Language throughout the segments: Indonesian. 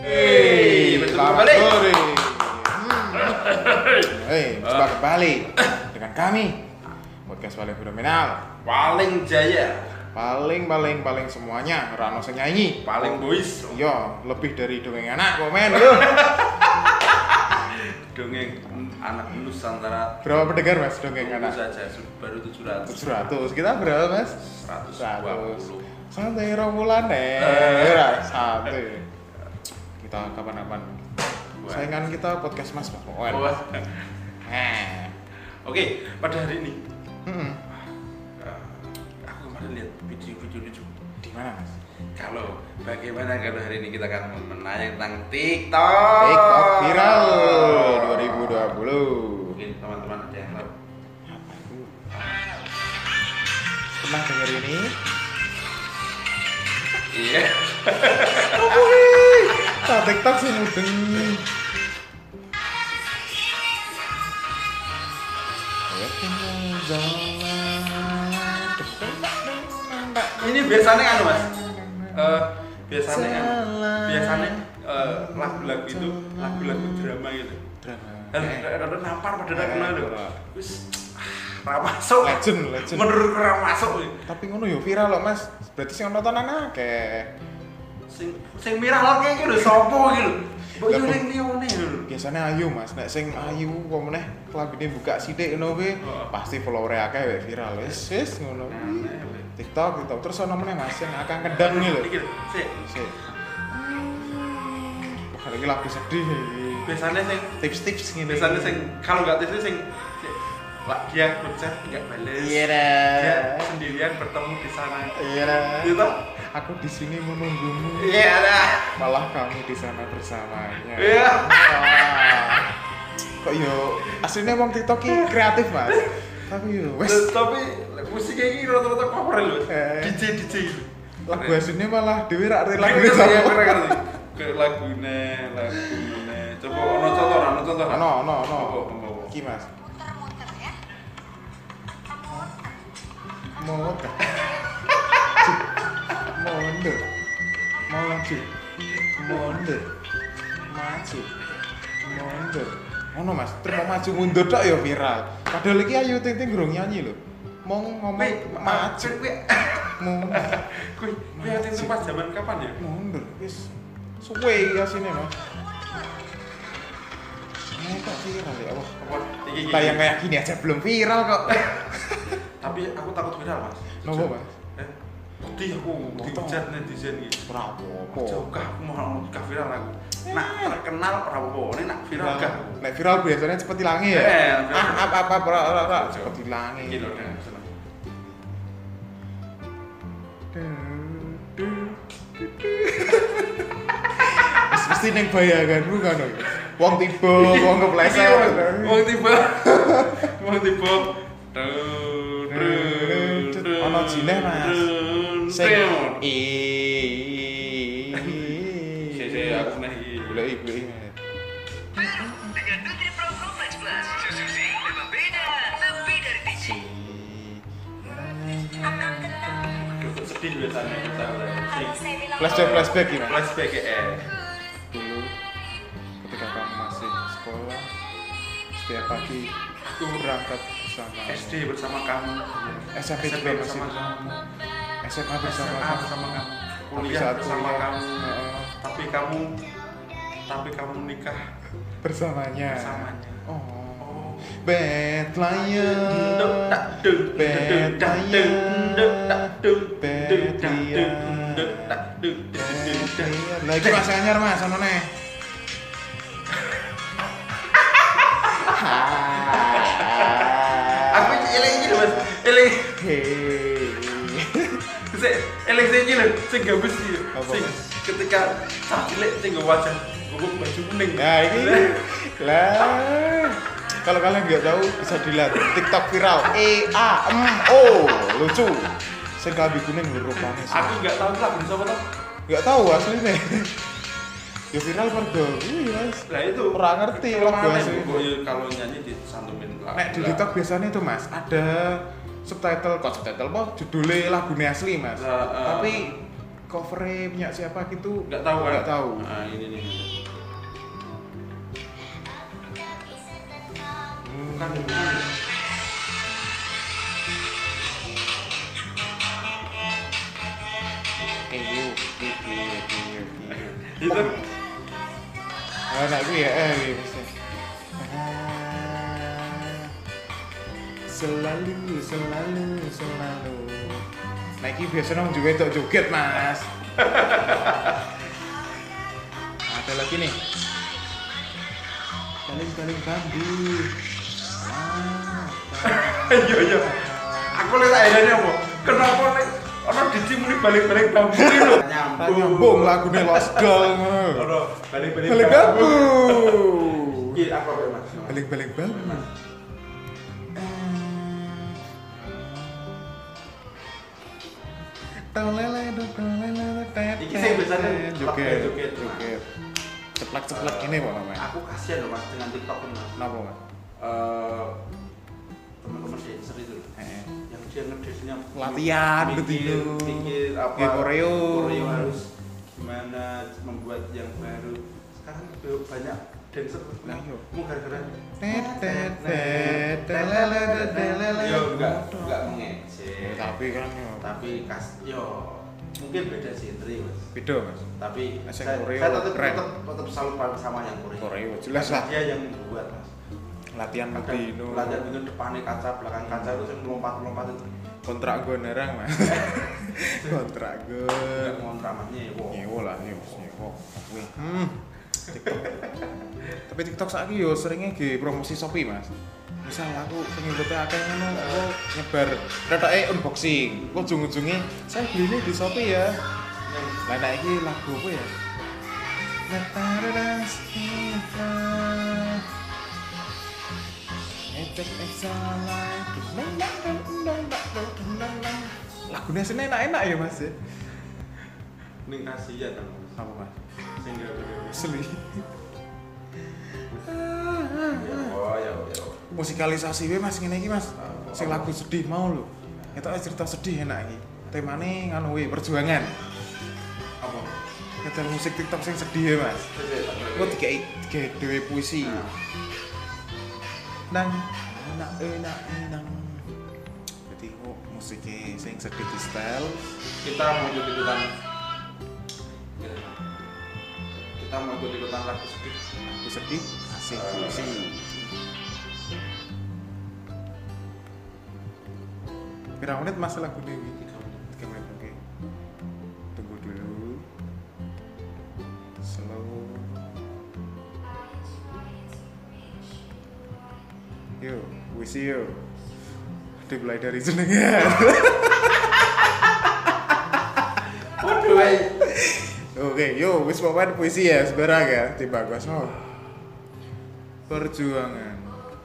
Selamat sore. Coba kembali dengan kami podcast paling fenomenal, paling jaya, paling semuanya, rano sing nyanyi, paling boys. Iya, lebih dari dongeng anak komen yo. Dongeng anak Nusantara. Berapa pendengar Mas dongeng anak? Saja baru 700. 700. Kita berapa Mas? 120. Santai rombulan santai. Kita kapan-kapan saingan kita podcast Mas Pak. Oke, pada hari ini aku kemarin lihat video lucu. Di mana Mas? Bagaimana kalau hari ini kita akan menanya tentang TikTok. TikTok viral 2020. Mungkin teman-teman ada yang tahu. Apa itu? Pernah dengar ini? Iya. Tak TikTok sih mudeng. Ini biasanya kan Mas. Biasanya lagu-lagu itu lagu-lagu drama gitu. Ada nampar pada kenal lho. Wis ra masuk. Legend. Menurut ra masuk. Tapi ngono yo viral loh Mas. Berarti sing nontonan akeh. Sing viral iki lho sapa iki lho. Mbok yo ning lione lho. Biasanya Ayu Mas, nek sing Ayu kok meneh lagune buka sithik ngono kuwi pasti follower akeh wae viral. Wis ngono. TikTok terus ono meneh Mas sing akang kendang iki lho. Iki lho, sik. Wah, iki lagu sedih. Biasanya sing Tips-tips ngene. biasanya sing kalau enggak tips sing dia berchat enggak balas. Iya dah. Dia sendirian bertemu di sana. Iya dah. Gitu. Aku di sini menunggumu. Iya dah. Malah kamu di sana bersamanya. Iya. Wah. Kok yo aslinya wong TikTok ki kreatif Mas. Tapi yo wes. Tapi musiknya ini rata-rata cover lho. DJ gitu. Lagu aslinya malah dhewe rak rela Lagu duwe ya sama. keren ke lagune. Coba ono contoh. Ono. Iki Mas. Muter. Mundur. Maju. Mundur. Maju. Mundur. Ono Mas, terus mau maju mundur tok ya viral. Padahal iki Ayu Ting Ting gurung nyanyi lho. Mong ngomong maju. Mundur. Kuwi itu pas zaman kapan ya? Mundur. Wis suwe ya sini Mas. Kok viral ya Allah. Iki. Tayang kayak gini aja belum viral kok. Tapi aku takut viral, Mas. Nopo Mas? Putih aku dihujat netizen gitu. Ora apa-apa. Jauh aku mau viral aku. Nak terkenal ora apa-apa, nek viral gak. Nek viral biasanya cepet hilangi ya. Apa ora cepet hilangi. Iki lho. Mesti ning bayanganmu kan. Wong tiba, wong kepleset. Wong tiba. Ono jineh Mas. Sing aku nahi. Boleh. Dengan Nutri-Pro Complex Plus, susu Zing memang beda, lebih dari biji. Sedih biasanya kita Flashback gimana? flashback ya. Dulu ketika kamu masih sekolah, setiap pagi aku berangkat bersama SD bersama kamu, SMP juga masih bersama bersama kamu, SMA bersama SMA kamu, bersama kamu, Tapi kuliah saat bersama kuliah, kamu, tapi kamu nikah bersamanya. bersamanya. Oh, bad liar, bad liar. Lagi Mas anyar Mas, ono neh. Aku eling iki lho Mas, eling iki lho, sing gabus iki. Apa, Sing Mas? ketika cah cilik sing nggo wajah nggo baju kuning. Nah ini lah. Kalau kalian nggak tahu bisa dilihat TikTok viral EAMO lucu. Sing klambi kuning lho rupane. Aku enggak tahu lagu sapa to. Nggak tahu aslinya. Ya viral mergo kuwi Mas. Lah itu Ora ngerti lagu asli. Kalau nyanyi disantumin lagu. Nek di TikTok biasanya itu Mas ada subtitle apa judulnya lagunya asli Mas. Tapi covernya punya siapa gitu Nggak tahu kan? nggak tahu. Nah, ini nih. Bukan. Itu Anak gue ya, bisa. Selalu. Nah, ini biasa nong juga joget mas. Ada lagi nih. Baling bambu. iya. Aku lihat akhirnya apa? Kenapa nih? Orang dicimuni balik-balik bambu ini loh. Nyambung lagunya Lost Doll ngono. Orang balik-balik Balik bambu. Iya, apa Mas? Balik bambu. Iki sing biasanya joget. Ceplak ini kok namanya. Aku kasihan loh Mas dengan TikTok ini. Kenapa mas? Teman-teman dancer itu yang dia ngedesnya Latihan mikir apa koreo harus gimana membuat yang baru. Sekarang banyak dancer mau gara-gara yo enggak mengejek tapi kan yo mungkin beda genre Mas. Beda mas. Tapi saya tetap salut sama yang koreo jelas lah. Dia yang membuat Mas. Latihan Dino depannya kaca, belakang kaca itu yang melompat itu. Kontrak gue nerang mas. Kontrak gue. Enggak ngontrak mas nyewo lah nyewo. TikTok. Tapi TikTok saiki yo seringnya di promosi Shopee mas. Misal aku pengikutnya akeh ngono aku nyebar retoke unboxing. Kok ujung-ujungnya saya beli ini di Shopee ya. Lah nek iki lagu apa ya? Lagunya sih enak-enak ya mas ya. Ning kasihan Mas. Apa mas? Sing Asli. ya. Musikalisasi we mas ngene iki mas. Sing lagu sedih mau lho. Ketok cerita sedih enak iki. Temane ngono we perjuangan. Apa? Ketok musik TikTok sing sedih ya mas. Kok dikai dhewe puisi. Nang enak. Jadi kok musiknya sing sedih di style. Kita mau ikut-ikutan lagu sedih. Lagu sedih asik puisi. Berapa menit mas lagu ini? 3 menit oke. Tunggu dulu. Slow. Yo, puisi yo. Dimulai dari jenengan. Waduh, Oke, yo, wis pokoknya puisi ya, sebarang ya, tiba gua mau. Perjuangan.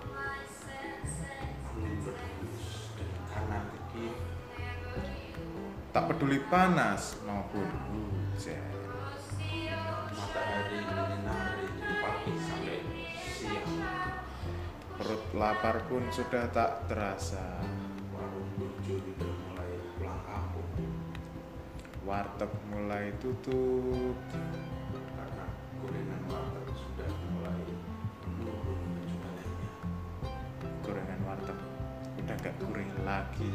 Tak peduli panas maupun hujan. Matahari menyinari dari pagi sampai siang. Perut lapar pun sudah tak terasa. Warung burjo sudah mulai pulang kampung. Warteg mulai tutup. Karena gorengan warteg sudah mulai menurun penjualannya. Gorengan warteg udah gak gurih lagi.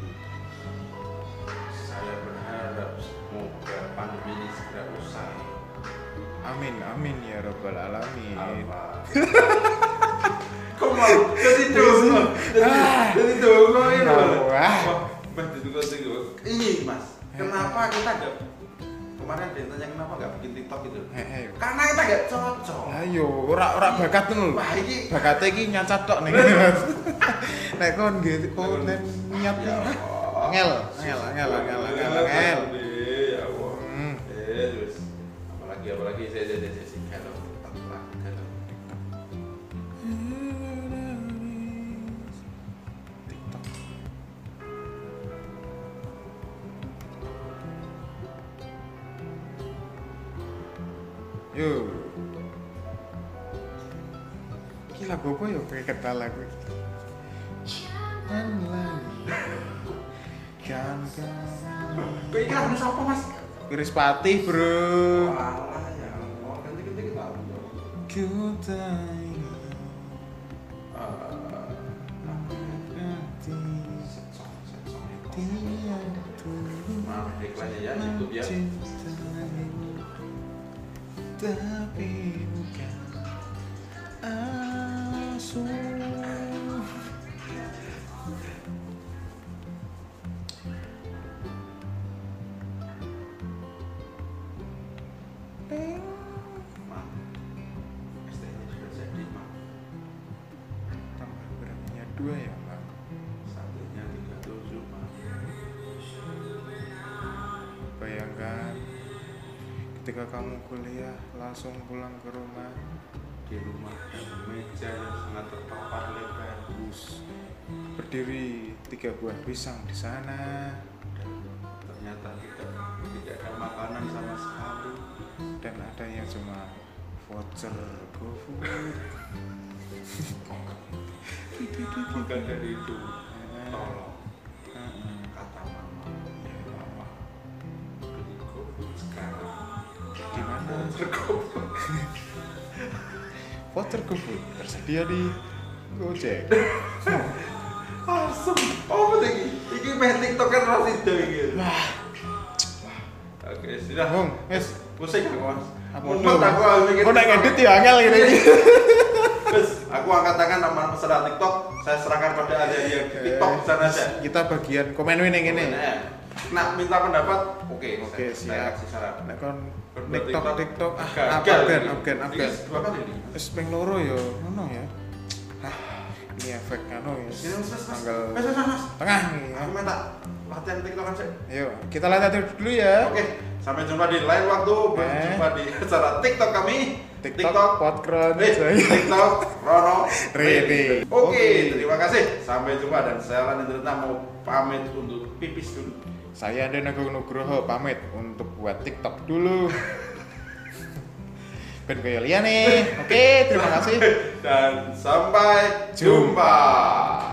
Saya berharap semoga pandemi ini segera usai. Amin ya rabbal alamin. Kok mau jadi dongo? Jadi dongo ini. Wah. Mas ini Mas, kenapa kita nggak kemarin dia tanya kenapa nggak bikin TikTok itu? Karena kita nggak cocok. Ayo, ora bakat lho. Wah ini bakatnya iki nyacat tok ning Mas. Nek kon nggih kon niat ngel. Ya Allah. Terus apalagi saya kalau TikTok. Yo. Iki lagu apa ya kayak kata lagu. Jangan lagi. Kok iki lagu siapa Mas? Iris Patih, Bro. Walah ya. Oh, ganti-ganti kita. Ku tak ingat hati dia dulu Maaf iklannya ya, YouTube ya. mencintaimu, tapi bukan asuh. Maaf. ST-nya sudah jadi, Maaf. Tambah beraninya 2 ya, Bang. Satunya 37, Maaf. Bayangkan ketika kamu kuliah langsung pulang ke rumah, Di rumah ada meja yang sangat terpapar lebar. berdiri 3 buah pisang di sana, Dan ternyata tidak ada makanan sama sekali. dan adanya cuma voucher GoFood. Bukan dari itu. Tolong, Heeh. kata mama, papa, beli GoFood sekarang. Di mana? GoFood. Voucher GoFood tersedia di Gojek. Asem. Oh, betul ini. Ini main TikTok kan ras itu iki. Oke, sudah. Bung, wes. Pusing aku, Mas. Apa Mumet tuh? aku mikir. Kok nek edit ya angel gini. Terus aku angkat tangan sama peserta TikTok, saya serahkan pada adik yang di TikTok di sana aja. Kita bagian komen ini ngene. Nah, minta pendapat, oke, Oke, saya siap. kasih saran. Nek kon Berbuat TikTok gagal. Afgan. Ini dua kali nih. Wis ping loro ya, ngono ya. Ini efek anu ya. Sini, Mas. Tanggal Mas. tengah nih ya. Aku minta latihan TikTokan sih. Ayo, kita lihat dulu ya. Oke, sampai jumpa di lain waktu. Berjumpa di acara TikTok kami. TikTok Podcast TikTok Rono Rene. Oke, terima kasih. Sampai jumpa dan saya Lan Indrita mau pamit untuk pipis dulu. Saya Anda Agung Nugroho pamit untuk buat TikTok dulu. Ben kaya liyane. Oke, terima kasih. Dan sampai jumpa.